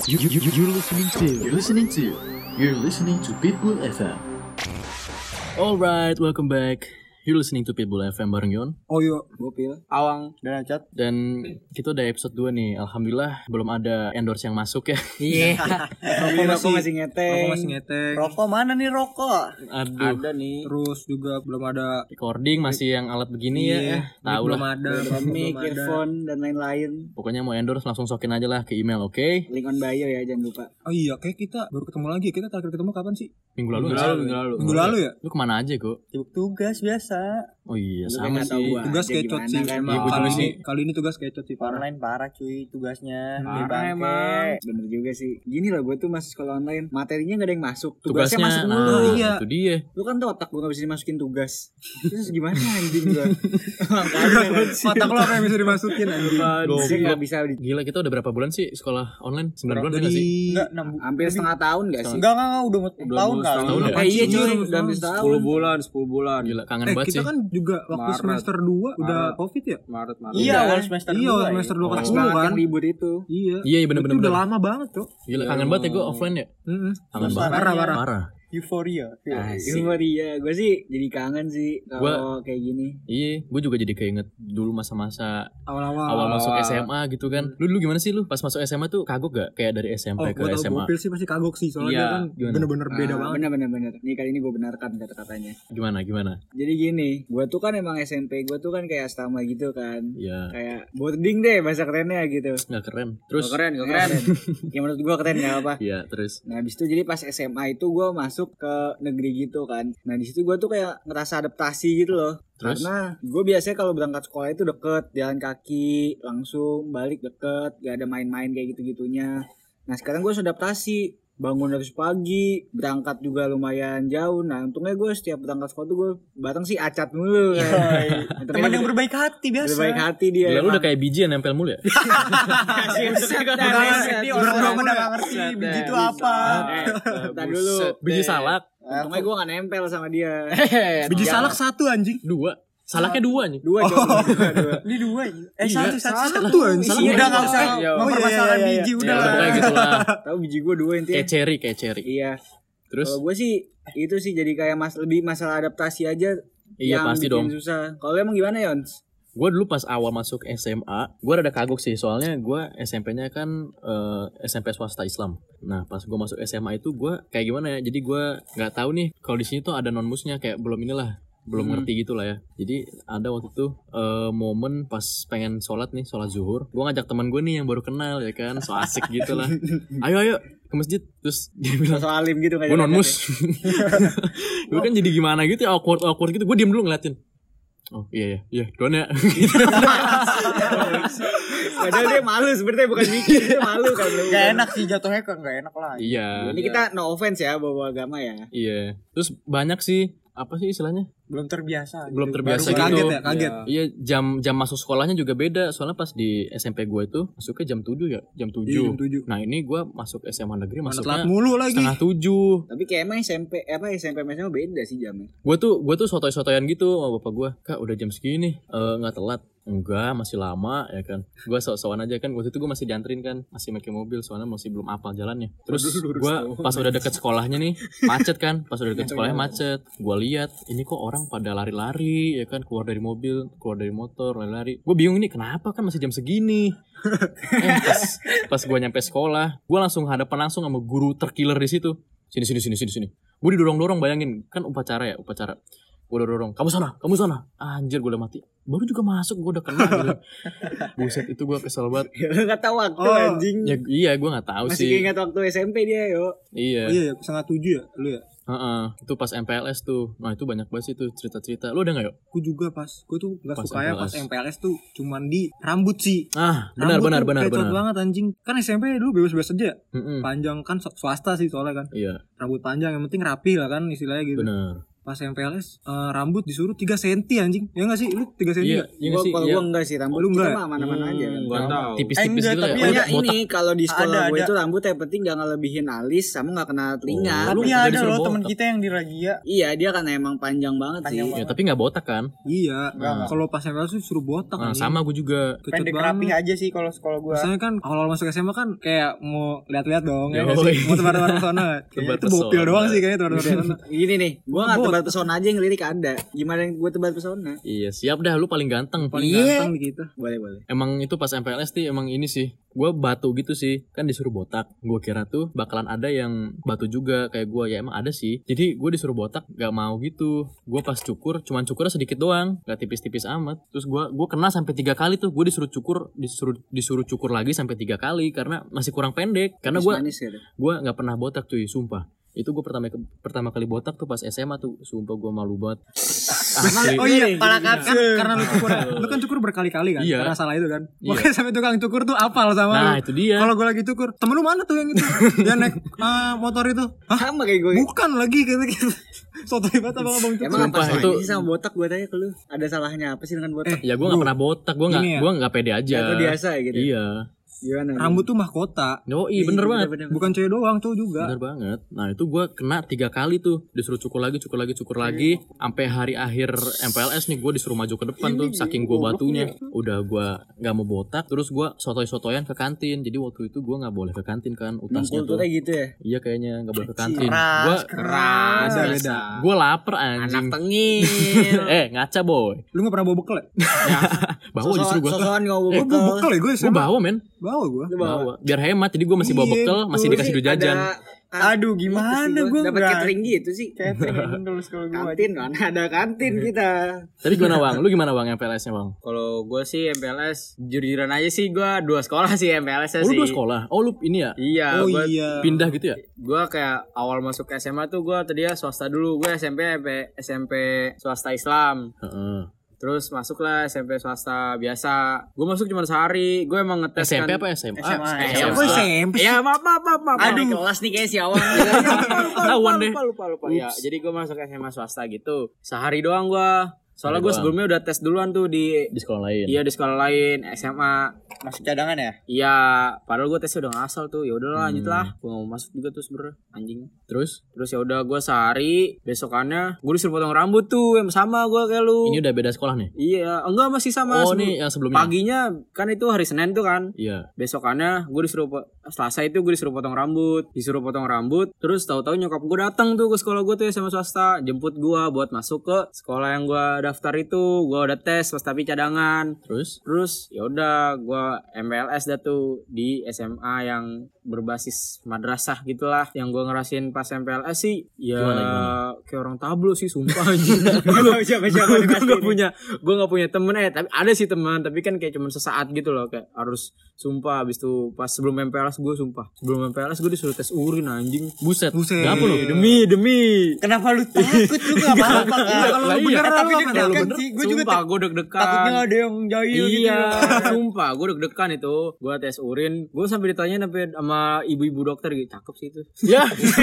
You're listening to Pitbull FM. Alright, welcome back. You're listening to Pitbull FM bareng Yon. Oh yuk, Gopil, Awang, dan Acat. Dan kita udah episode 2 nih. Alhamdulillah belum ada endorse yang masuk ya. Iya. Rokok masih ngeteng. Rokok mana nih rokok? Aduh. Ada nih. Terus juga belum ada Recording masih yang alat begini ya. Tahu belum lah. ada. Mic, earphone, dan lain-lain. Pokoknya mau endorse langsung sokin aja lah ke email, oke? Link on bio ya, jangan lupa. Oh iya, kayak kita baru ketemu lagi. Kita terakhir ketemu kapan sih? Minggu lalu nggak sih? Minggu lalu ya? Lu kemana aja kok? Sibuk tugas biasa. Oh iya Lu sama kan nggak tahu sih. gua. Tugas aja kecot gimana sih. kan, Emang gua juga sih. kali ini tugas kecot sih parah. Online parah cuy tugasnya. Parah Bangke. emang. Bener juga sih. Gini loh, gue tuh masih sekolah online. Materinya gak ada yang masuk. Tugasnya masuk nah, mulu. Iya. itu dia. Lu kan tau otak gue gak bisa dimasukin tugas. Terus gimana anjing gue? Otak lo apa yang bisa dimasukin anjing? Sih gak bisa. Gila, kita udah berapa bulan sih sekolah online? 9 bulan udah nggak sih? Enggak, hampir setengah tahun gak sih? Enggak, udah tahun kali. setahun ya? Iya cuy, udah hampir setahun. 10 bulan. Gila, kangen banget Kita sih. kan juga waktu Maret. semester 2 udah covid ya? Maret. Iya, awal semester Iya, 2 semester 2 Oh. kelas Pas 10 banget kan? yang ribut itu. Iya. Iya, bener-bener. Itu udah lama banget tuh. Gila, kangen banget ya gue offline ya. Kangen banget. Parah. Euforia. Euforia, gue sih jadi kangen sih kalau kayak gini. Iya, gue juga jadi keinget dulu masa-masa Awal-awal. awal masuk SMA gitu kan. Lu dulu gimana sih lu pas masuk SMA tuh kagok gak? Kayak dari SMP ke Gua tau SMA. Gopil sih pasti kagok sih. Soalnya Iya, dia kan gimana? bener-bener beda banget. Bener. Nih kali ini gue benarkan kata-katanya. Gimana? Jadi gini, gue tuh kan emang SMP gue tuh kan kayak astama gitu kan. Iya. Kayak boarding deh bahasa kerennya gitu. Nggak keren. Terus Gak keren. Ya menurut gue keren gak apa. iya, terus Nah habis itu jadi pas SMA itu gue masuk ke negeri gitu kan. Nah di situ gue tuh kayak ngerasa adaptasi gitu loh. Terus? Karena gue biasanya kalau berangkat sekolah itu deket, jalan kaki, langsung balik deket, gak ada main-main kayak gitu-gitunya. Nah sekarang gue harus adaptasi, bangun dari pagi, berangkat juga lumayan jauh. Nah untungnya gue setiap berangkat sekolah tuh gue bareng sih Acat mulu kan. Teman yang berbaik hati biasa. berbaik hati dia. gila, lu udah kayak biji yang nempel mulu ya? Orang udah gak ngerti biji itu apa. Entar dulu. Biji salak. Untungnya gue gak nempel sama dia. Biji salak 1 anjing. 2. Salaknya 2 nih. Dua. Ini dua. Satu anjing. Udah gak usah mempermasalahkan iya. biji, udah Ya, lah. pokoknya gitu lah. Tahu biji gue 2 intinya. Kayak cherry. Iya. Terus Kalau gue sih itu sih jadi kayak lebih masalah adaptasi aja. iya yang pasti bikin dong. susah. Kalau emang gimana Yons? Gue dulu pas awal masuk SMA, gue rada kagok sih. Soalnya gue SMP-nya kan SMP swasta Islam. Nah pas gue masuk SMA itu gue kayak gimana ya. Jadi gue nggak tahu nih kalau di sini tuh ada non-musnya, kayak belum ngerti gitu lah ya. Jadi ada waktu itu momen pas pengen sholat zuhur, gue ngajak teman gue nih yang baru kenal ya kan, so asik gitu lah. Ayo ke masjid. Terus dia bilang, Sosok alim gitu gue non-mus. Gue kan jadi gimana gitu ya, awkward gitu. Gue diem dulu ngeliatin. Oh iya duluan ya. Padahal dia malu sebenarnya, bukan mikir, dia malu kan. Gak enak sih jatuhnya, kok gak enak lah. Iya. Ini kita no offense ya bawa agama ya. Iya. Terus banyak sih, apa sih istilahnya? Belum terbiasa. Belum terbiasa Baru gitu. kaget. Iya, jam masuk sekolahnya juga beda. Soalnya pas di SMP gue itu masuknya jam 7 ya, jam 7. Iya, jam 7. Nah, ini gue masuk SMA negeri Mana masuknya telat mulu lagi. setengah 7. Tapi kayak emang SMP SMA beda sih jamnya. Gue tuh sotoy-sotoyan gitu sama bapak gue. Kak, udah jam segini nggak telat. Enggak, masih lama ya kan. Gue sok-sokan aja kan. Waktu itu gue masih dianterin kan, masih pakai mobil soalnya masih belum apal jalannya. Terus gue pas udah deket sekolahnya nih macet kan. Pas udah deket sekolahnya macet. Gue lihat ini kok orang pada lari-lari ya kan, keluar dari mobil, keluar dari motor, lari-lari. Gue bingung ini kenapa kan masih jam segini. Pas gue nyampe sekolah, gue langsung hadapan langsung sama guru terkiller di situ. Sini. Gue didorong-dorong, bayangin kan upacara. Gue udah dorong, kamu sana. Anjir, gue udah mati. Baru juga masuk, gue udah kena gitu. Buset, itu gue kesel banget. Gak tahu waktu anjing. Ya, iya, gue gak tahu Masih sih. ingat waktu SMP dia yo. Iya. Oh iya, 6:30 ya lu ya? Itu pas MPLS tuh. Nah itu banyak banget sih tuh cerita-cerita. Lu ada gak yuk? Gue juga pas. Gue tuh gak Pas suka ya pas MPLS. MPLS tuh cuman di rambut sih. Benar. Kecot banget anjing. Kan SMP dulu bebas-bebas aja. Mm-mm. Panjang kan swasta sih soalnya kan. Iya, Rambut panjang yang penting rapi lah kan istilahnya gitu. benar. pas MPLS rambut disuruh 3 cm anjing. Ya enggak sih? Lu 3 cm Iya, enggak? iya nggak sih. Kalau Iya. gua enggak sih rambut Lu kita enggak? mah aman-aman aja kan. Enggak tahu. Tipis-tipis Enggak, gitu tapi ya. Pokoknya Botak. ini kalau di sekolah Ada, gue ada. itu rambut yang penting jangan lebihin alis sama nggak kena telinga. Lu Tapi nggak ada disuruh loh botak. teman kita yang di Ragia. Iya dia kan emang panjang banget Panjang sih. banget. Ya, tapi nggak botak kan? Iya. Enggak. Kalau pas MPLS tuh suruh botak Nah, anjing. sama gue juga. Kecut Pendek banget. rapih aja sih kalau sekolah gua. Biasanya kan awal masuk SMA kan kayak mau lihat-lihat dong ya nggak Yoi. sih? Mau tebar-tebar pesona. Kayaknya itu bopil pesona. doang sih kayaknya tebar-tebar pesona. Gini nih, gue nggak tebar pesona aja yang lirik ada. Gimana yang gue tebar pesona? Iya, siap dah, lu paling ganteng. Paling Iya. ganteng di kita. Boleh. Emang itu pas MPLS sih emang ini sih. Gue batu gitu sih. Kan disuruh botak. Gue kira tuh bakalan ada yang batu juga kayak gue. Ya emang ada sih. Jadi gue disuruh botak gak mau gitu. Gue pas cukur cuman cukurnya sedikit doang. Gak tipis-tipis amat. Terus gue kena sampai 3 kali tuh. Gue disuruh cukur lagi sampai 3 kali karena masih kurang pendek. Karena gue Manis gitu. gak pernah botak cuy, sumpah. Itu gue pertama kali botak tuh pas SMA tuh. Sumpah gue malu banget. Asli. Oh iya, kan karena lu kan cukur berkali-kali kan. Iya. Karena salah itu kan. Iya. Makanya sampai tukang cukur tuh apal sama Nah lu. itu dia. Kalau gue lagi cukur, temen lu mana tuh yang itu? Dia naik motor itu. Hah? Sama kayak gue. Bukan lagi gitu. Sotoy banget abang-abang cukur. Emang apa Sumpah, salahnya itu- sih sama botak gue tanya ke lu? Ada salahnya apa sih dengan botak? Ya gue gak pernah botak. Gue Ini ya. gak pede aja. Atau biasa ya gitu? Iya. Gimana? Rambut tuh mahkota. Yoi bener banget. Bukan cewek doang, cowok juga. Bener banget. Nah itu gue kena 3 kali tuh. Disuruh cukur lagi. Sampai hari akhir MPLS nih gue disuruh maju ke depan tuh. Saking gue batunya. Udah gue gak mau botak. Terus gue sotoy-sotoyan ke kantin. Jadi waktu itu gue gak boleh ke kantin kan. Emang Utasnya tuh. kulturnya gitu ya? Iya kayaknya gak boleh ke kantin. Keras. Beda. Gue lapar Anak anjing. tengil. Ngaca boy. Lu gak pernah bawa bekal ya? Bawa justru gue. Sosokan gak bawa Gue bekal. bawa bekal ya gue Gue bawa men. Bawa gue. Lu bawa. Bawa. Biar hemat. Jadi gue masih bawa Iya, bekal. Masih dikasih duit jajan. Aduh, gimana gua dapat nggak- catering gitu sih. Catering dulu sekolah gua. Kantin kan ada kantin kita. Tapi gimana Bang? Lu gimana Bang MPLS-nya Bang? Kalau gue sih MPLS jujur-jujuran aja sih gue 2 sekolah sih MPLS-nya Oh lu sih. 2 sekolah? Oh lu ini ya? Iya, Oh gue iya. Pindah gitu ya? kayak awal masuk ke SMA tuh gue tadinya swasta dulu. Gue SMP swasta Islam. Heeh. Terus masuklah SMP swasta biasa. Gue masuk cuma sehari. Gue emang ngetes SMP kan. apa SMA? SMA. Kok SMP sih? Ya maaf. Aduh kelas nih kayak si Awang. Tahuan deh. Lupa. Ya, jadi gue masuk SMA swasta gitu. Sehari doang gue. Soalnya Sehari gue doang. sebelumnya udah tes duluan tuh di Di sekolah lain. iya di sekolah lain SMA. Masuk cadangan ya? Iya, padahal gue tesnya udah ngasal tuh. Ya udahlah lanjut lah. Gue gak mau masuk juga tuh sebenernya anjing. Terus Terus ya udah gue sehari, besokannya gue disuruh potong rambut tuh yang sama gue kayak lu. ini udah beda sekolah nih? Iya, enggak masih sama. Oh sebelum- nih yang sebelumnya? Paginya kan itu hari Senin tuh kan. Iya. Besokannya gue disuruh Selasa itu gue disuruh potong rambut, terus tahu-tahu nyokap gue datang tuh ke sekolah gue tuh ya sama swasta, jemput gue buat masuk ke sekolah yang gue daftar itu. Gue udah tes pas tapi cadangan. Terus ya udah gue MPLS dah tuh di SMA yang berbasis madrasah gitulah. Yang gue ngerasain pas MPLS sih ya Gimana? kayak orang tablo sih sumpah anjing. Gue gak punya temen tapi ada sih teman, tapi kan kayak cuman sesaat gitu loh, kayak harus sumpah abis itu pas sebelum MPLS gue disuruh tes urin anjing. Buset. Buset. Gak apa lu? Demi Kenapa lu takut? Lu gak apa-apa kan? Kalau Lah lu iya. bener Tapi lu deg-degan bener. sih. Gue juga Sumpah gue deg-degan. takutnya ada yang jahil gitu. Iya, sumpah gue deg-degan itu. Gue tes urin, gue sampai ditanya sampai sama ibu-ibu dokter gitu, cakep sih itu. Ya.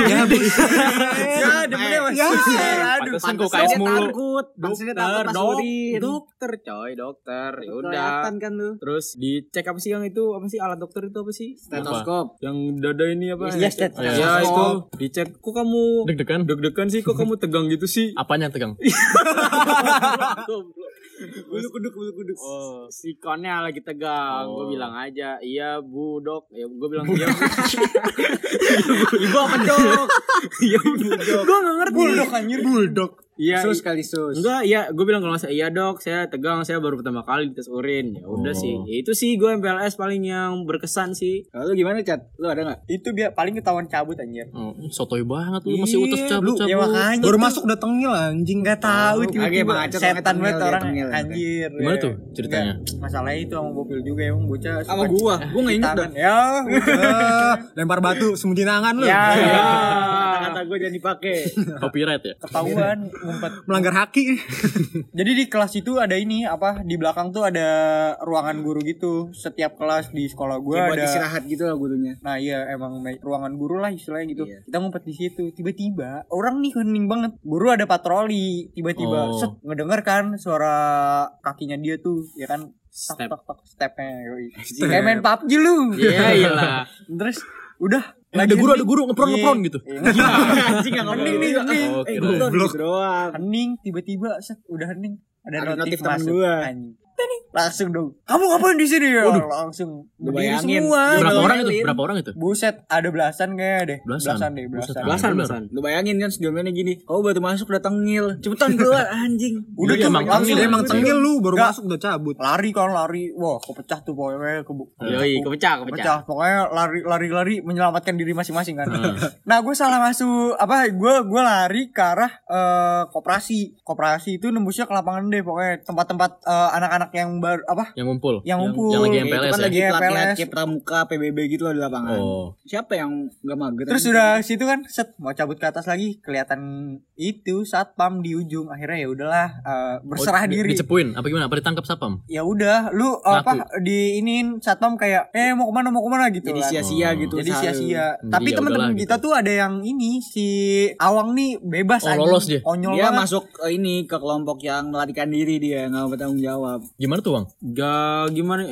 Ya, demennya masih. Aduh. Pantesan kok KS mulu. Takut. Maksudnya takut pas urin. Dokter coy, dokter. Ya udah. Kelihatan kan lu. Terus dicek apa sih yang itu? Apa sih alat dokter itu apa sih? Stetoskop. Yang dada ini apa? Iya, stetoskop. Ya itu dicek. Kok kamu Deg-degan. deg-degan sih? Kok kamu tegang gitu sih? Apanya yang tegang? Bulu kuduk. Oh, sikonnya lagi tegang. Oh. Gue bilang aja, iya bu dok. Ya gue bilang iya. Ibu apa dok? Iya ibu dok. Gue nggak ngerti. Bulldog anjir. Bulldog. Iya. Sus kali sus. Enggak, iya, gue bilang kalau nggak salah, iya dok, saya tegang, saya baru pertama kali dites urin. Ya udah Oh. sih, ya itu sih gue MPLS paling yang berkesan sih. Kalau lu gimana Cat? Lu ada nggak? Itu paling ketahuan cabut anjir. Oh, sotoy banget lu masih utus Iya, cabut. Ya makanya Baru tuh. masuk udah tengil anjing. Nggak tahu Kagak, tiba-tiba Bang Acot setan orangnya banget tengil, orang tengil. anjir. Gimana Ya. tuh ceritanya? Nggak, masalahnya itu sama Bopil juga emang bocah. Sama gua nggak inget dah. Ya, Lempar batu sembunyi tangan lu. ya. Tangan kata gue jangan dipakai. Copyright ya. Ketahuan ngumpet. Melanggar haki. Jadi di kelas itu ada ini apa di belakang tuh ada ruangan guru gitu. Setiap kelas di sekolah gue Kayak buat ada. istirahat gitu lah gurunya. Nah iya emang ruangan guru lah istilahnya gitu. Iya. Kita ngumpet di situ. Tiba-tiba orang nih hening banget. Guru ada patroli. Tiba-tiba Oh. set ngedenger kan suara kakinya dia tuh ya kan. Step. Tok stepnya. Yoi. Kayak main PUBG lu. Iya iyalah. Terus udah. Ada guru ngepron gitu. Anjing enggak Hening nih hening. Oke. goblok gitu doang. Hening tiba-tiba set udah hening. Ada Ada notif notif temen masuk. gua. Anjing. Tening. Langsung dong. Kamu ngapain di sini ya? Langsung. Lu Berdiri bayangin. semua. Berapa Lu orang itu? bayangin. Berapa orang itu? Buset, ada belasan kayaknya deh. Belasan? deh, Buset, belasan. Belasan. Lu bayangin kan sebelumnya gini. Kau baru masuk udah tengil. Cepetan keluar anjing. Udah Iya, tuh emang langsung tengil, Emang tengil lu baru Nggak. masuk udah cabut. lari kan lari. Wah, kepecah tuh pokoknya Yoi, kepecah. Kepecah. Pokoknya lari menyelamatkan diri masing-masing kan. Nah, gue salah masuk apa? Gue lari ke arah koperasi. Koperasi itu nembusnya ke lapangan deh pokoknya tempat-tempat anak-anak yang baru apa? Yang ngumpul. Yang ngumpul. yang lagi Itu MPLS kan ya? lagi Iya, pelatihan PLS. kayak pramuka PBB gitu loh di lapangan. Oh. Siapa yang enggak mager? Terus udah situ kan set mau cabut ke atas lagi kelihatan itu satpam di ujung. Akhirnya ya udahlah berserah diri. Dicepuin apa gimana? Apa ditangkap sapam? Ya udah lu apa diinin satpam kayak mau kemana gitu jadi kan. sia-sia gitu. Jadi selalu. sia-sia. Jadi Tapi ya teman-teman udahlah kita gitu. tuh ada yang ini si Awang nih bebas Oh, anjing. lolos dia? Konyol Dia banget. masuk ini ke kelompok yang melarikan diri dia nggak bertanggung jawab. Gimana tuh, Bang? Gak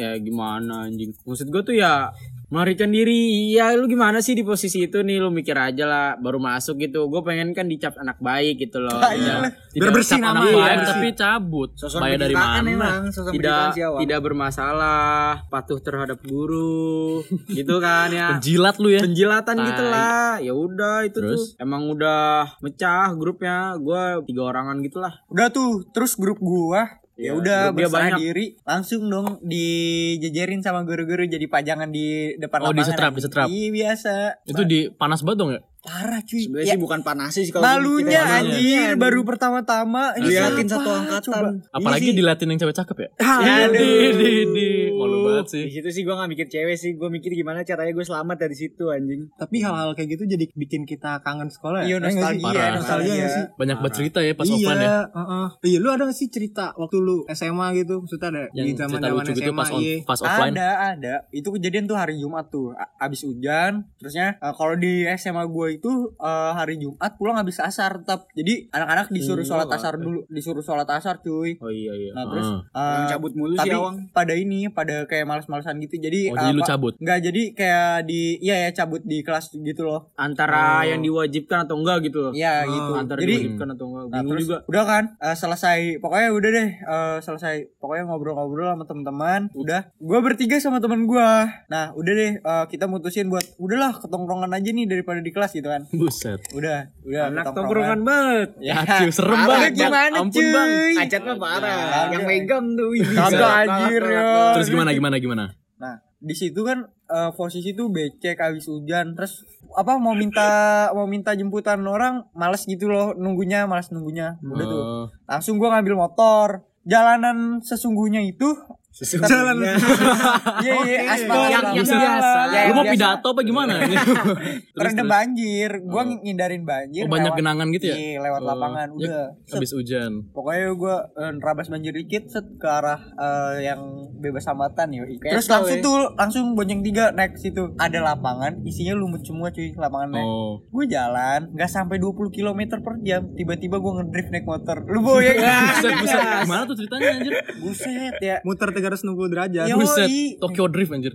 gimana anjing. Maksud gue tuh ya melarikan diri. Ya lu gimana sih di posisi itu nih, lu mikir aja lah baru masuk gitu. Gue pengen kan dicap anak baik gitu loh. Iya. Tidak bersih cap anak namanya, baik, bersih. tapi cabut. Sosok Bayar dari pendidikan mana? emang, sosok Tidak pendidikan si Awang. tidak bermasalah, patuh terhadap guru, gitu kan ya. Penjilat lu ya. Penjilatan Tai. gitu lah. Ya udah itu Terus? tuh emang udah mecah grupnya. Gue 3 orangan gitulah. Udah tuh terus grup gua ya udah grup dia berserah banyak. diri langsung dong dijejerin sama guru-guru jadi pajangan di depan Oh, lapangan. disetrap, disetrap. Iya biasa. Itu di panas banget dong ya? Parah cuy. Sebenarnya Ya, sih bukan panas sih kalau malunya gua mikirnya. anjir baru pertama-tama Liatin siapa? satu angkatan. Coba. Apalagi Iya sih. dilatin yang cewek cakep ya? Aduh. Malu banget sih. Di situ sih gue gak mikir cewek sih, gue mikir gimana caranya gue selamat dari situ anjing. Tapi hal-hal kayak gitu jadi bikin kita kangen sekolah Iya ya. Eh, nggak sih? nostalgia, Parah. Nostalgia nggak sih? Banyak bercerita ya pas Iya, offline ya. Iya, lu ada gak sih cerita waktu lu SMA gitu? Maksudnya ada Yang di cerita zaman-zaman lucu gitu SMA, pas iya. pas offline. Ada. Itu kejadian tuh hari Jumat tuh. Abis hujan. Terusnya kalau di SMA gue itu hari Jumat pulang habis asar tetap. Jadi anak-anak disuruh sholat asar dulu. Disuruh sholat asar cuy. Oh iya. Nah terus Yang cabut mulu tapi sih Awang. pada kayak males-malesan gitu. Jadi Oh, jadi lu cabut? Enggak, jadi kayak cabut di kelas gitu loh. Antara yang diwajibkan atau enggak gitu loh. Iya gitu. Antara Jadi diwajibkan atau enggak. nah, Bingung terus juga. udah kan selesai pokoknya udah deh selesai pokoknya ngobrol-ngobrol sama teman-teman udah gue bertiga sama teman gue nah udah deh kita mutusin buat udahlah ketongkrongan aja nih daripada di kelas gitu kan Buset. udah Anak tongkrongan banget. Ya, cuy, serem Parah, banget. gimana, Ampun, cuy? Bang. Acat mah parah. Kagak. Yang megang tuh. Kagak, anjir, ya. Terus gimana? nah di situ kan posisi tuh becek habis hujan terus apa mau minta jemputan orang malas gitu loh malas nunggunya udah tuh Oh. langsung gue ngambil motor jalanan sesungguhnya itu Jalan. iya aspal Yang aspal. biasa. Ya, Lu mau biasa. pidato apa gimana? Terendam banjir gue ngindarin banjir Oh, banyak lewat- genangan gitu ya? iya lewat Oh, lapangan ya, udah Set. Habis hujan. Pokoknya gue nerabas banjir dikit set ke arah yang bebas hambatan yoi. Terus Keto, langsung ya. tuh langsung bonceng 3 naik situ. Ada lapangan isinya lumut semua cuy lapangannya. Oh. Gue jalan nggak sampai 20 km per jam tiba-tiba gue ngedrift naik motor. Lu bayangin Buset. Gimana tuh ceritanya anjir? buset ya. Muter 360 derajat. Yo. Buset. Yoi. Tokyo Drift anjir.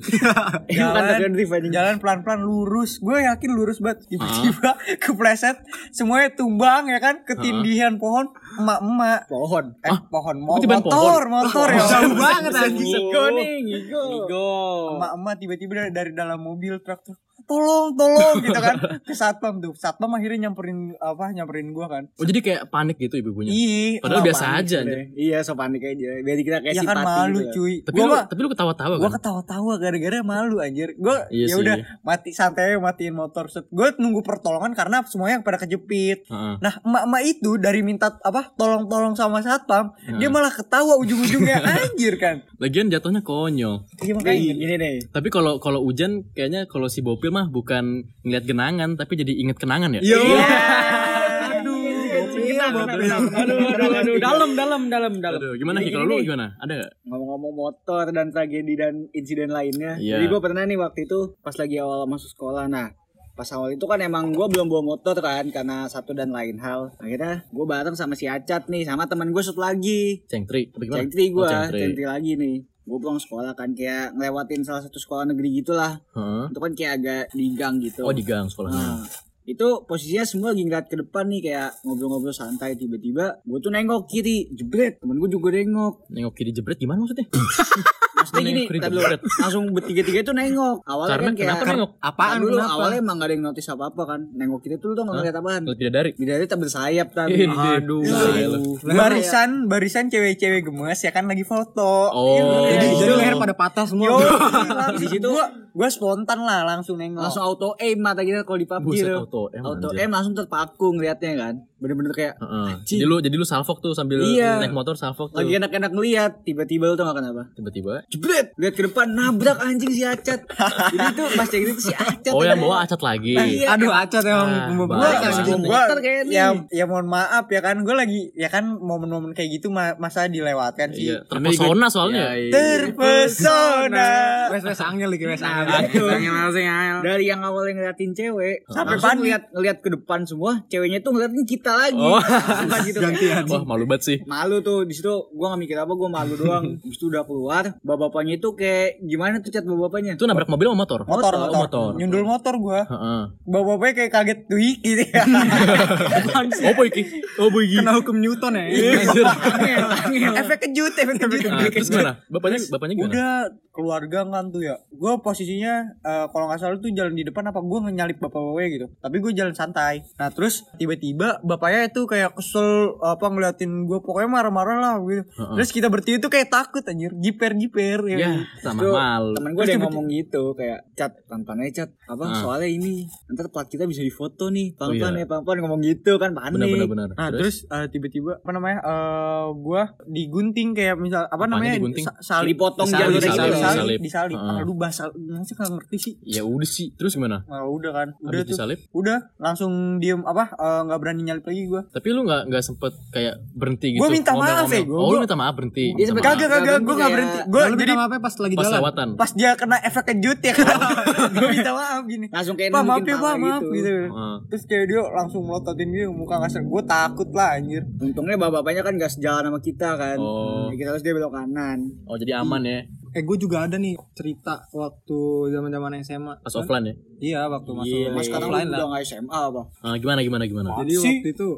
Jalan pelan-pelan lurus. Gue yakin lurus banget. Tiba-tiba kepleset semuanya tumbang ya kan ketindihan pohon emak-emak. Pohon. Pohon tiba-tiba motor ya. Jauh banget anjing. Ngigo nih, ngigo. Emak-emak tiba-tiba dari dalam mobil truk tolong gitu kan ke satpam akhirnya nyamperin gua kan Oh, jadi kayak panik gitu ibu-ibunya. iya Padahal wah, biasa panik aja deh. anjir. Iya, so panik aja. Biar kita kayak ya kan simpati malu gitu. cuy Tapi lu ketawa-tawa gua kan? ketawa-tawa gara-gara malu anjir gua Iya ya sih. udah mati santai matiin motor set gua nunggu pertolongan karena semuanya pada kejepit. Heeh. Nah emak-emak itu dari minta tolong sama satpam dia malah ketawa ujung-ujungnya anjir kan. Lagian jatuhnya konyol. Iya makanya Gini deh. Tapi kalau hujan kayaknya kalau si Bopil mah mah bukan ngeliat genangan tapi jadi inget kenangan ya. Yo. Aduh, dalam. Aduh, gimana Ki? Kalau lu gimana? Ada gak? Ngomong-ngomong motor dan tragedi dan insiden lainnya. Iya. Jadi gue pernah nih waktu itu pas lagi awal masuk sekolah. Nah, pas awal itu kan emang gue belum bawa motor kan karena satu dan lain hal. Akhirnya gue bareng sama si Acat nih, sama teman gue satu lagi. Cengtri. Apa gimana? Cengtri gue, Oh, Cengtri. Cengtri lagi nih. Gue pulang sekolah kan kayak ngelewatin salah satu sekolah negeri gitulah. Heeh. Itu kan kayak agak di gang gitu. Oh, di gang sekolahnya. Nah, itu posisinya semua lagi ngeliat ke depan nih kayak ngobrol-ngobrol santai, tiba-tiba gue tuh nengok kiri, jebret, temen gue juga nengok. Nengok kiri jebret gimana maksudnya? Maksudnya gini, Nengok kiri ntar dulu, jebret. langsung bertiga-tiga itu nengok. Awalnya Karena kan kayak kenapa nengok? apaan dulu? Kenapa? Awalnya emang gak ada yang notice apa-apa kan. Nengok kiri tuh nggak ngeliat apaan. Ngeliat bidadari. Bidadari tak bersayap tapi. Aduh. Barisan cewek-cewek gemes ya kan lagi foto. Oh. Jadi leher pada patah semua. Yo, Di situ gua spontan lah langsung nengok. langsung auto aim mata kita kalau di PUBG Buset, tuh. auto aim, Auto anjir. aim langsung terpaku ngeliatnya kan. Bener-bener kayak Heeh. anjing. Jadi lu salfok tuh sambil Iya. naik motor salfok tuh. lagi enak-enak ngeliat, tiba-tiba lu tau gak kenapa? Tiba-tiba. Jebret, lihat ke depan nabrak anjing si Acat. Jadi itu pas cek itu si Acat. Oh, yang bawa Acat lagi. Iya. Aduh, Acat emang Ah, membawa baik. Gua Anjing. motor kayak nih. ya mohon maaf ya kan gue lagi ya kan momen-momen kayak gitu masa dilewatkan sih. Iya, terpesona soalnya. Terpesona. wes angel lagi wes Nah, angel. betul. Dari yang awalnya ngeliatin cewek Sampai langsung panik. ngeliat ke depan semua, ceweknya tuh ngeliatin kita lagi. Oh. Sumpah gitu. Gantian. Wah, malu banget sih. Malu tuh di situ gua gak mikir apa, gua malu doang. Habis itu udah keluar, bapak-bapaknya itu kayak gimana tuh Cat bapak-bapaknya? Itu nabrak mobil sama motor? motor. Nyundul motor gue. Heeh. Bapak-bapaknya kayak kaget tuh gitu ya. Oh, boy iki. Oh, boy iki. Kena hukum Newton ya. Angel. efek kejut. Nah, terus gimana? Bapaknya gimana? Udah keluarga kan tuh ya. Gue posisinya kalau nggak salah tuh jalan di depan apa gue nyalip bapak-bapaknya gitu. Tapi gue jalan santai. Nah terus tiba-tiba bapaknya itu kayak kesel apa ngeliatin gue, pokoknya marah-marah lah gitu. Terus kita bertiga tuh kayak takut anjir, jiper Ya, sama Terus malu. temen gue ada yang ngomong gitu kayak Cat, pelan-pelan aja Cat, apa soalnya ini ntar plat kita bisa difoto nih, pelan-pelan iya. ya, pelan-pelan ngomong gitu kan, panik. Benar. Nah terus tiba-tiba apa namanya gue digunting kayak misal apa Apanya namanya digunting? salib, Dipotong Disalib, jalur disalib. Heeh. Aduh bahasa nggak ngerti sih. Ya udah sih. Terus gimana? Nah, udah kan, udah Habis tuh, disalib? udah langsung diem apa nggak berani nyalip lagi gue. Tapi lu nggak sempet kayak berhenti gitu. Gua minta maaf ya, Oh, lu minta maaf berhenti. Iya, Minta sempet maaf. Kagak gue nggak berhenti. Gue Lalu jadi minta maafnya pas lagi Pas jalan. lewatan. pas dia kena efek kejut ya kan. Gue minta maaf gini. langsung kayak Pak maaf nunjukin ya pak pala maaf gitu. Heeh. Terus kayak dia langsung melototin dia muka kasar. Gue takut lah anjir. Untungnya bapak-bapaknya kan gak sejalan sama kita kan. Oh. Ya, kita harus dia belok kanan. Oh, jadi aman ya. Gue juga ada nih cerita waktu zaman-zaman SMA. Pas offline ya. Iya, waktu masuk Iya, Mas sekarang offline udah lah. gak SMA apa? Gimana? Jadi waktu itu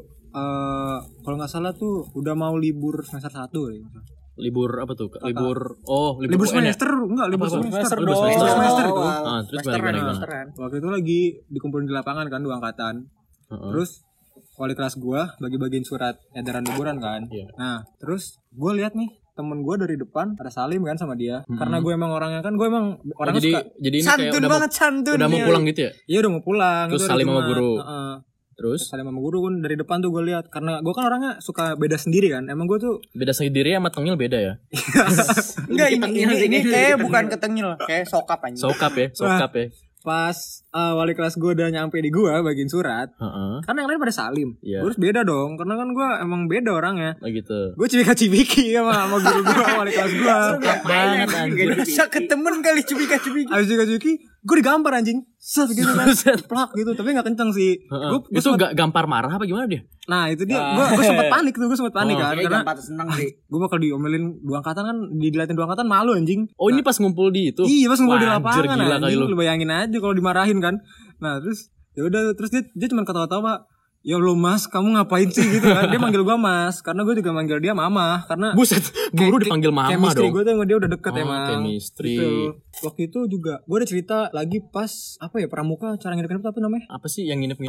kalau nggak salah tuh udah mau libur semester 1 ya. Libur apa tuh? Libur Libur UN ya? semester enggak, libur Apa? semester. Libur semester. Semester itu. Terus gimana? Waktu itu lagi dikumpulin di lapangan kan, 2 angkatan. Heeh. Terus wali kelas gua bagi-bagiin surat edaran liburan kan. Iya. Nah, terus gua lihat nih temen gua dari depan ada Salim kan sama dia. Karena gue emang orangnya kan, gue emang Oh, orangnya jadi suka. jadi ini kayak Santun banget santun. udah mau Iya. pulang gitu ya? Iya udah mau pulang. Terus itu hari salim sama Jumat. guru. Heeh. Terus Salim sama guru kan dari depan tuh gue lihat, karena gue kan orangnya suka beda sendiri kan. Emang gue tuh beda sendiri sama tengil beda ya? Enggak ini kayak bukan ketengil, kayak sokap anjing. Sokap ya. pas wali kelas gue udah nyampe di gue bagiin surat. Heeh. Karena yang lain pada salim. Iya. Terus beda dong, karena kan gue emang beda orangnya. Oh gitu. Gue cibika-cibiki sama guru gue wali kelas gue. Banget anjir. Masa ketemen kali cubika-cubiki. Abis cibika-cibiki, gue digampar anjing. Set gitu kan. Set. Plak gitu, tapi gak kenceng sih. Heeh. Gua Itu gak gampar marah apa gimana dia? Nah itu dia, gue sempet panik tuh, gue sempet panik kan. Kayaknya Karena gampang seneng sih. gue bakal diomelin 2 angkatan kan, diliatin 2 angkatan malu anjing. Oh, ini pas ngumpul di itu. Iya pas ngumpul di Wah, anjir, lapangan gila kali anjing, lu. lu bayangin aja kalau dimarahin kan. Nah terus ya udah, terus dia cuma ketawa-tawa, ya Allah mas kamu ngapain sih gitu kan. Dia manggil gua mas, karena gue juga manggil dia mama. Karena Buset, guru dipanggil mama chemistry dong. gue tuh sama dia udah deket Oh, emang chemistry. gitu. Waktu itu juga gue ada cerita lagi pas apa ya, pramuka, cara nginep-nginep apa namanya, Apa sih yang nginep-nginep?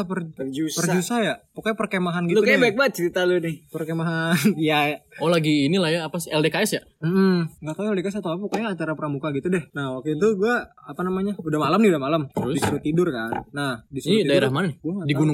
perjusa ya, pokoknya perkemahan gitu Lu kayak deh. baik banget cerita lu nih. Perkemahan ya. Oh, lagi inilah ya, apa sih LDKS ya? Nggak tahu ya dikasih atau apa, pokoknya acara pramuka gitu deh. Nah waktu itu gue apa namanya, udah malam nih, Terus? disuruh tidur kan. Nah Ini disuruh tidur, daerah mana nih? Gua nggak Di tahu. gunung gitu ya biasanya?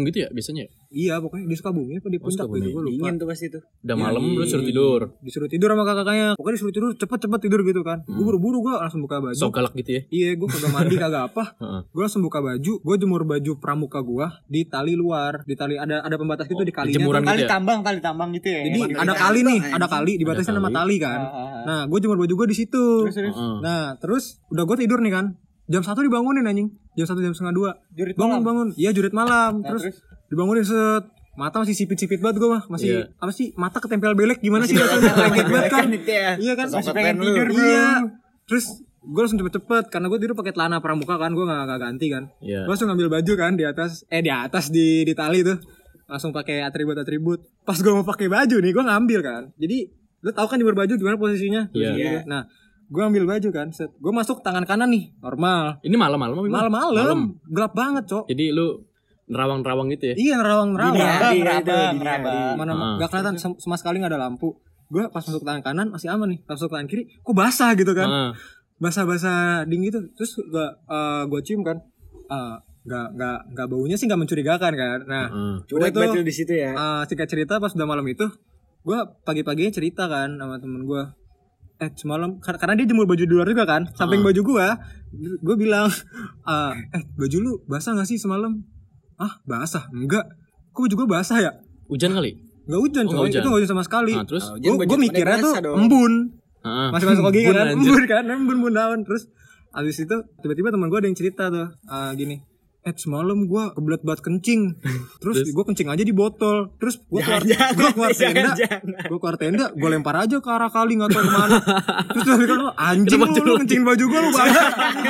biasanya? Iya pokoknya di Sukabumi apa di Puncak Sukabumi. gitu gue lupa. Dingin tuh pasti tuh. Udah Iya, malam lu suruh tidur. Disuruh tidur sama kakaknya. Pokoknya disuruh tidur cepet tidur gitu kan. Gue buru-buru gue langsung buka baju. Sok galak gitu ya. Iya gue kagak mandi kagak apa. Heeh. Gue langsung buka baju. Gue jemur baju pramuka gue di tali luar. Di tali ada pembatas gitu di kalinya. jemuran tuh. gitu ya? Kali tambang gitu ya. Jadi Emang ada dari kali nih, tambang, ada kali dibatasi Ada sama kali. tali kan. Nah, gue jemur baju gue di situ. Heeh. Nah, terus udah gue tidur nih kan. Jam 1 dibangunin anjing. Jam 1 jam setengah 2. Jurit malam. Bangun. Iya, jurit malam. Terus dibangunin set. Mata masih sipit-sipit banget gue mah. Masih Iya. apa sih? Mata ketempel belek gimana sih rasanya? Lengket banget kan. Iya kan? Masih pengen tidur, bro. Iya. Terus gue langsung cepet-cepet karena gue tidur pakai celana pramuka kan, gue nggak ganti kan. Iya. Gue langsung ngambil baju kan di atas di tali tuh, langsung pakai atribut. Pas gue mau pakai baju nih, gue ngambil kan. Jadi lu tahu kan jemur baju gimana posisinya? Iya. Gitu. Nah, gue ambil baju kan, set. Gue masuk tangan kanan nih, normal. Ini malam-malam apa gimana? Malam-malam, gelap banget cok. Jadi lu nerawang-nerawang gitu ya? Iya nerawang-nerawang. Rabang. Mana nggak kelihatan sama sekali nggak ada lampu. Gue pas masuk tangan kanan masih aman nih, pas masuk tangan kiri, kok basah gitu kan? Heeh. Basah-basah dingin gitu. Terus gue cium kan, nggak baunya sih nggak mencurigakan kan. Nah, Heeh. udah Cuek tuh banget lu di situ ya. singkat cerita pas udah malam itu, gue pagi-paginya cerita kan sama temen gue. Semalam karena dia jemur baju di luar juga kan, samping baju gue bilang, baju lu basah nggak sih semalam? Basah? Enggak. Kok baju gue basah ya? Hujan kali? Nggak hujan Oh, coy, nggak hujan. itu nggak hujan sama sekali. Nah, terus? Gue mikirnya tuh basah dong. embun. Heeh. Masih masuk logika Embun, kan, anjir. embun kan, embun daun. Terus abis itu tiba-tiba teman gue ada yang cerita tuh, gini, semalam gue kebelet banget kencing. Terus gue kencing aja di botol. Terus gue keluar tenda, gue lempar aja ke arah kali nggak tahu kemana. Terus dia bilang, anjing lu kencing baju gue lu banyak.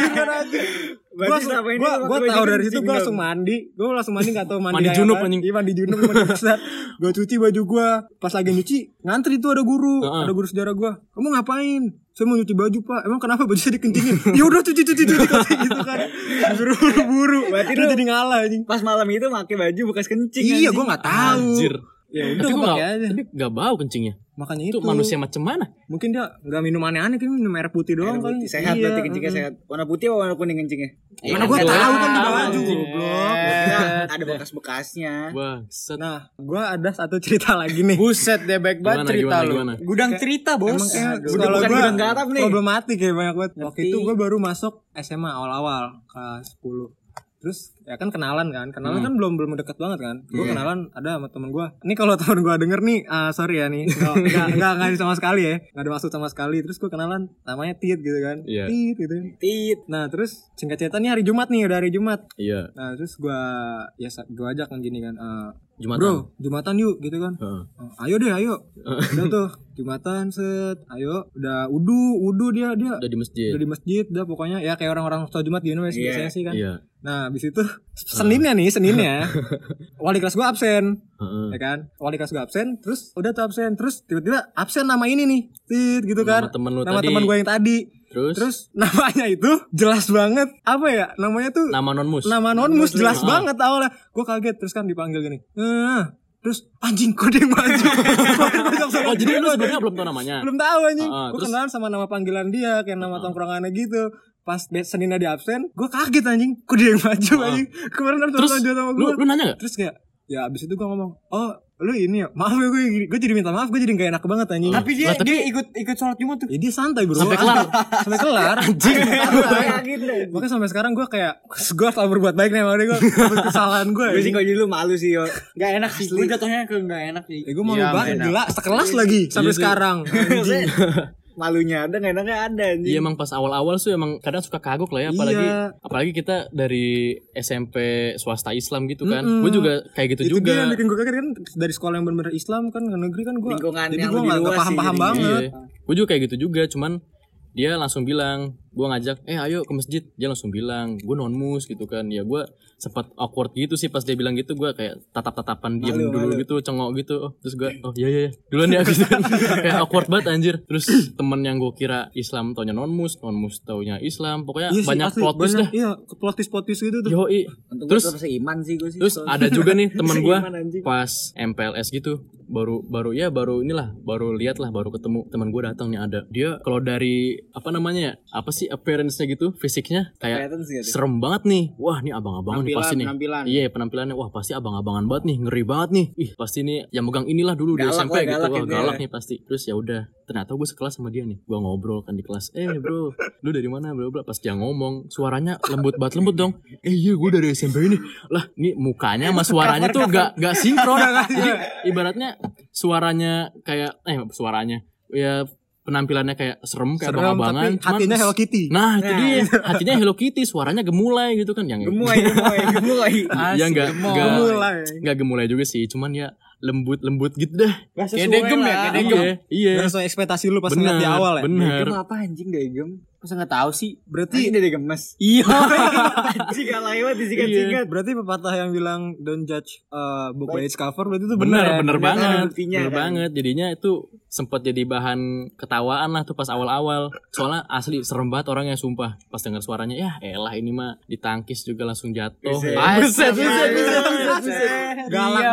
Gue tahu dari situ gue langsung mandi. Gue langsung mandi nggak tahu mandi Mandi kayak junub, apa. anjing. Iya mandi junub, mandi besar. Gue cuci baju gue. Pas lagi nyuci ngantri tuh ada guru, ada guru sejarah gue. Kamu ngapain? Saya mau nyuci baju pak. Emang kenapa baju saya dikencingin? Ya udah cuci gitu kan. Disuruh buru-buru. Berarti Terus lu jadi ngalah anjing. Pas malam itu pakai baju bekas kencing. Iya, anjing. gue nggak tahu. Anjir. Ya udah Tapi gue gua pakai nggak- aja. Tapi gak bau kencingnya. Makanya Itu itu manusia macam mana? mungkin dia nggak minum aneh-aneh, kan minum air putih doang Air kali. putih. Sehat berarti kencingnya sehat. Warna putih apa warna kuning kencingnya? Mana gue tahu kan di baju Anjing. goblok. Ada bekas-bekasnya. Bangsat. Nah, gue ada satu cerita lagi nih. Buset deh baik banget Gimana, cerita lu. gimana? Gudang cerita, Bos. Emang kayak Aduh, sekolah bukan gue gudang garam nih. problematik ya banyak banget. Waktu Ngerti. itu gue baru masuk SMA awal-awal kelas 10. Terus ya kan kenalan kan kan belum deket banget kan. Gue kenalan ada sama temen gue. Ini kalau temen gue denger nih, sorry ya nih, nggak sama sekali ya, nggak ada maksud sama sekali. Terus gue kenalan, namanya Tit gitu kan, Iya. Tit gitu. Tit. Nah terus singkat cerita nih hari Jumat nih, udah hari Jumat. Iya. Nah terus gue ajak kan gini kan, Jumatan. bro Jumatan yuk gitu kan. Heeh. Ayo deh ayo. Udah tuh Jumatan set, ayo udah wudu dia Udah di masjid. udah di masjid dah pokoknya ya kayak orang-orang sholat Jumat gitu biasanya sih kan. Iya. Nah habis itu Seninnya wali kelas gue absen. Heeh. Ya kan, wali kelas gue absen, terus udah tuh absen, terus tiba-tiba absen nama ini nih, Tit gitu kan, Nama temen lu nama tadi. teman gue yang tadi. Terus namanya itu jelas banget, apa ya namanya tuh, Nama non-mus. nama non-mus jelas banget awalnya. Gue kaget, terus kan dipanggil gini, terus anjing kode yang maju. Oh, jadi lu sebenarnya belum tahu namanya. Belum tahu anjing. Gue Terus? kenalan sama nama panggilan dia, kayak nama tongkrongannya gitu. Pas Seninnya di absen, gue kaget anjing, kok dia yang maju anjing. Kemarin harus Terus lanjut sama lu gue. nanya gak? Terus kayak, ya abis itu gue ngomong, oh lu ini ya, maaf ya gue jadi minta maaf, gue jadi gak enak banget anjing. Tapi dia Lah, tapi- dia ikut sholat Jumat tuh. Ya dia santai bro. Sampai kelar. Sampai kelar. Anjing. Makanya sampai sekarang gue kayak, gue selalu berbuat baik nih sama dia, gue hapus kesalahan gue. Gue sih kalau jadi lu malu sih yo. Gak enak sih. Gue jatuhnya ke gak enak sih. Ya gue malu Iya, banget, nggak enak. gila, sekelas lagi sampai sih. sekarang. Anjing. Malunya ada, nggak enaknya ada anjing. Iya emang pas awal-awal sih emang kadang suka kagok lah ya, apalagi kita dari SMP swasta Islam gitu kan. Gue juga kayak gitu Itu dia juga. yang bikin gue kaget kan, dari sekolah yang bener-bener Islam kan, ke negeri kan gue. Lingkungan Jadi yang gue lebih gak luas sih paham-paham jadinya. banget. Gue juga kayak gitu juga, cuman dia langsung bilang, gue ngajak, ayo ke masjid. Dia langsung bilang, gue non-mus gitu kan. Ya gue sempat awkward gitu sih pas dia bilang gitu. Gue kayak tatap-tatapan diam dulu gitu, cengok gitu. Terus gue, oh iya duluan ya gitu kan. Kayak awkward banget anjir. Terus temen yang gue kira Islam taunya non-mus taunya Islam. Pokoknya Iya sih, banyak asli, plot twist dah. Iya, plot twist gitu tuh. Yoi. Untung Terus gue seiman sih gue sih. Terus ada juga nih temen gue Seiman, anjing. pas MPLS gitu, baru lihat lah, baru ketemu teman gue datang nih ada. Dia kalau dari apa namanya ya? Apa sih appearance-nya gitu, fisiknya kayak Kelihatan sih, serem banget nih. Wah, nih abang-abangan nih pasti nih. Penampilan. Iya, penampilannya wah pasti abang-abangan banget nih, ngeri banget nih. Ih, pasti nih yang megang inilah dulu di Galak SMP lah, gitu. galak Wah, gitu galak ya. nih pasti. Terus ya udah, ternyata gue sekelas sama dia nih. Gue ngobrol kan di kelas. Bro, lu dari mana bla bla. Pas dia ngomong, suaranya lembut dong. Iya, gue dari SMP ini. Lah, nih mukanya sama suaranya tuh gak sinkron. Jadi ibaratnya suaranya kayak suaranya ya penampilannya kayak serem kayak abang-abangan, tapi hatinya Hello Kitty. Nah, itu dia. Hatinya Hello Kitty, suaranya gemulai gitu kan yang Gemulai. ya enggak gemulai juga sih, cuman ya lembut gitu dah. Kayak degem ya, kayak degem. Iya. Gak sesuai ekspektasi lu pas ngeliat di awal ya. Bener. Degem apa anjing degem? Masa nggak tahu sih? Berarti Anjing dia gemes. Iya. Anjing gak lewat disingkat-singkat. berarti pepatah yang bilang don't judge book by its cover berarti itu Bener benar ya. banget. ada buktinya, Bener kan? banget. Jadinya itu sempat jadi bahan ketawaan lah tuh pas awal-awal. Soalnya asli serem banget orangnya, sumpah. Pas denger suaranya, ya elah ini mah ditangkis juga langsung jatuh. Buset. Galak,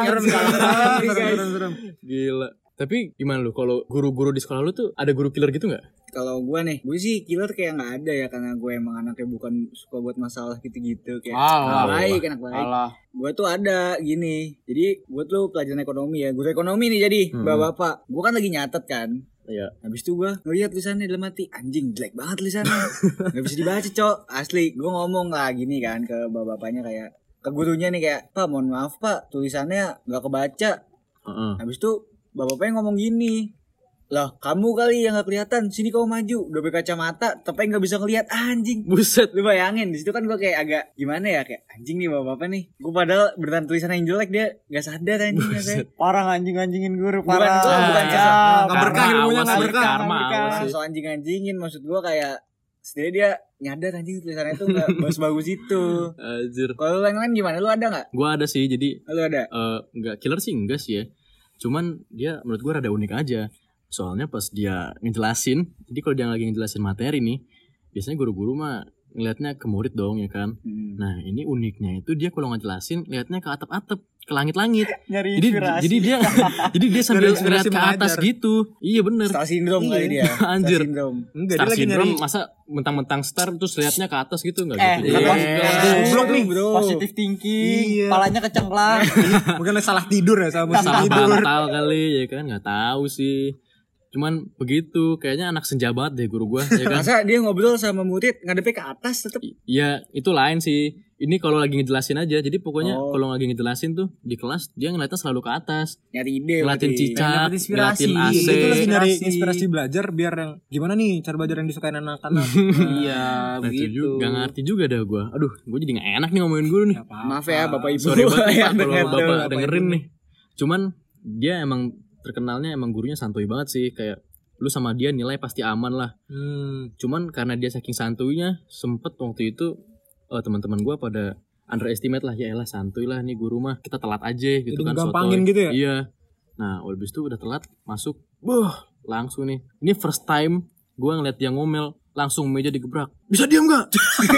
serem. Gila. Tapi gimana lu kalau guru-guru di sekolah lu tuh ada guru killer gitu nggak? Kalau gue sih killer kayak nggak ada ya, karena gue emang anaknya bukan suka buat masalah gitu-gitu kayak anak baik. Gue tuh ada gini, jadi gue tuh pelajaran ekonomi ya, guru ekonomi nih jadi bapak-bapak. Gue kan lagi nyatet kan. Iya. Habis itu gue ngeliat tulisannya dalam hati, anjing jelek banget tulisannya. Gak bisa dibaca cok, asli. Gue ngomong lah gini kan ke bapak-bapaknya kayak, ke gurunya nih kayak, Pak mohon maaf pak, tulisannya gak kebaca. Habis itu bapaknya ngomong gini, lah kamu kali yang gak kelihatan, sini kamu maju, udah pakai kacamata tapi gak bisa ngeliat, anjing. Buset. Lu bayangin, disitu kan gue kayak agak gimana ya, kayak anjing nih bapak-bapak nih. Gue padahal beneran tulisan yang jelek, dia gak sadar anjing. Parah anjing-anjingin guru, Bukan, parah. bukan Nggak berkah ilmunya, nggak awas sih, berkah. karma awas sih. So anjing-anjingin, maksud gue kayak setidaknya dia nyadar anjing tulisannya tuh gak bagus-bagus itu. Anjir. Kalau lu yang lain gimana? Lu ada gak? Gua ada sih, jadi Lu ada? enggak killer sih enggak sih ya. Cuman dia menurut gua rada unik aja. Soalnya pas dia ngejelasin, jadi kalau dia lagi ngejelasin materi nih, biasanya guru-guru mah ngelihatnya ke murid dong ya kan. Nah, ini uniknya itu dia kalau ngejelasin lihatnya ke atap-atap, ke langit-langit. Nyari Jadi inspirasi. jadi dia sambil inspirasi ngeliat ke atas mengajar. gitu. Iya bener. Star syndrome kali dia. Anjir. Star syndrome. Enggak, Star dia lagi syndrome nyari masa mentang-mentang star terus lihatnya ke atas gitu enggak gitu. kata goblok nih, bro. positif thinking, Iya. palanya kecengklang. mungkin salah tidur ya, sama Salah tidur. bantal kali ya kan, nggak tahu sih. Cuman begitu, kayaknya anak senja banget deh guru gua ya kan. Masa dia ngobrol sama murid ngadepnya ke atas tetep. Iya, itu lain sih. Ini kalau lagi ngejelasin aja. Jadi pokoknya Oh. kalau lagi ngejelasin tuh di kelas dia ngeliatnya selalu ke atas. Nyari ide. Ngeliatin berarti. cicak, Dapet inspirasi. ngeliatin AC. Itu lagi nyari Inspirasi. inspirasi belajar biar yang gimana nih cara belajar yang disukain anak-anak. Iya, Nah, itu begitu. juga gak ngerti juga dah gua. Aduh, gua jadi gak enak nih ngomongin guru nih. Maaf ya Bapak Ibu. Sorry banget nih, Pak yang kalau denger Bapak tuh. dengerin nih. Cuman dia emang terkenalnya emang gurunya santuy banget sih, kayak lu sama dia nilai pasti aman lah. Cuman karena dia saking santuinya, sempet waktu itu teman-teman gua pada underestimate lah, ya elah santuy lah nih guru mah, kita telat aja gitu Jadi kan. ngegampangin sotoy. gitu ya? Iya. Nah, habis itu udah telat masuk, langsung nih. Ini first time gua ngeliat dia ngomel, langsung meja digebrak. Bisa diam gak?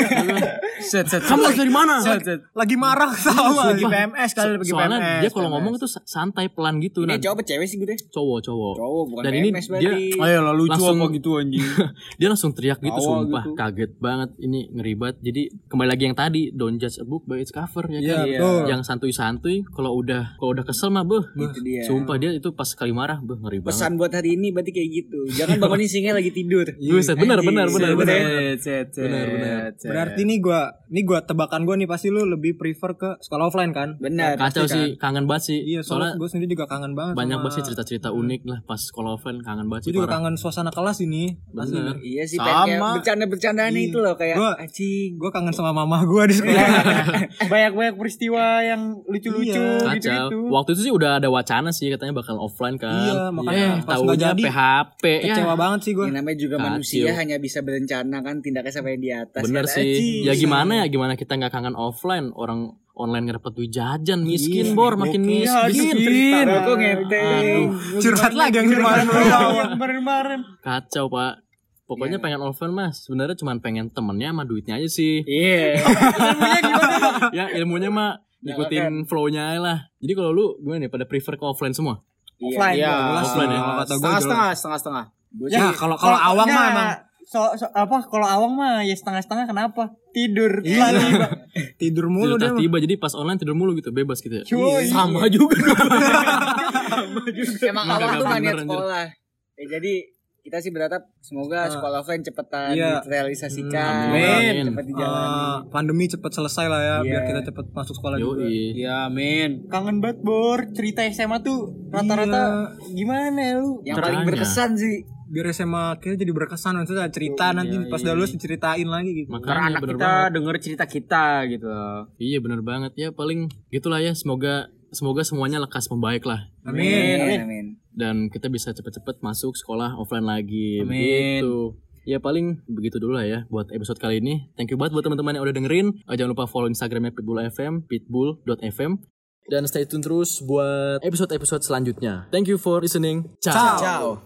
Set. Kamu dari mana? Lagi marah sama. Lagi PMS kali, lagi Soalnya PMS. dia kalau ngomong itu santai pelan gitu. Ini Nah, cowok apa cewek sih gue deh? cowok. Cowok bukan Dan ini PMS dia berarti. Ayo lah lucu Langsung- apa gitu anjing. dia langsung teriak gitu, Tawa sumpah gitu. kaget banget, ini ngeri banget. Jadi kembali lagi yang tadi, don't judge a book by its cover ya Iya, kan. betul. Yang santuy-santuy kalau udah kesel mah Itu dia. sumpah dia itu pas sekali marah ngeri banget. Pesan buat hari ini berarti kayak gitu. Jangan bangunin singa lagi tidur. Buset, benar. Set. Berarti nih gua tebakan gua nih pasti lu lebih prefer ke sekolah offline kan? Benar. Kacau pasti sih, kangen banget sih. Iya, soalnya Soalnya gue sendiri juga kangen banget. banyak sama- banget sih cerita-cerita unik lah pas sekolah offline, kangen banget Gue sih juga parah. kangen suasana kelas ini. Asli. Bener. Iya sih, Sama. kayak bercanda-bercandaan Iya. itu loh kayak Gua- anjing. Gue kangen sama mama gue di sekolah. Banyak-banyak peristiwa yang lucu-lucu Iya. gitu. Kacau. Waktu itu sih udah ada wacana sih katanya bakal offline kan. Iya, makanya pas nggak tahunya jadi, PHP ya. Kecewa banget sih gue. Yang namanya juga Kacau. manusia hanya bisa berencana kan, tindaknya sampai di atas. Bener Kata, sih. anjing. Ya gimana kita nggak kangen offline, orang online ngedapat duit jajan, miskin Iya, bor, makin gokil. miskin. Aku ngenteng. Curhat lagi yang kemarin. Kemarin-kemarin. Kacau pak. Pokoknya pengen offline mas. Sebenarnya cuma pengen temennya sama duitnya aja sih. Iya. Ya ilmunya mah ikutin flow-nya lah. Jadi kalau lu gimana nih, pada prefer ke offline semua? Offline. Iya, offline ya. Kalau kata gue setengah-setengah. Ya kalau awang mah emang Kalau awang mah ya setengah-setengah, kenapa? Tidur. tidur mulu Tidur dia. tiba, jadi pas online tidur mulu gitu, bebas gitu ya. Cuy. Sama juga dong. Emang Emang awal kagak tuh gak bener, niat anjir. sekolah. Jadi kita sih berharap semoga sekolah offline cepetan Iya. direalisasikan, Amin. cepat dijalani. Pandemi cepat selesai lah ya, biar Iya. kita cepat masuk sekolah juga. Yoi. Ya amin. Kangen banget Bor, cerita SMA tuh rata-rata gimana ya lu? Yang paling Caranya. berkesan sih Biar SMA kita jadi berkesan, maksudnya cerita nanti pas udah lulus diceritain lagi gitu. Karena Makanya anak bener kita banget. denger cerita kita gitu. Iya bener banget ya, paling gitulah ya. Semoga semuanya lekas membaik lah. Amin. Dan kita bisa cepet-cepet masuk sekolah offline lagi. Amin. Begitu. Ya paling begitu dulu lah ya buat episode kali ini. Thank you banget buat teman-teman yang udah dengerin. Jangan lupa follow Instagramnya Pitbull FM, pitbull.fm. Dan stay tune terus buat episode-episode selanjutnya. Thank you for listening. Ciao. Ciao.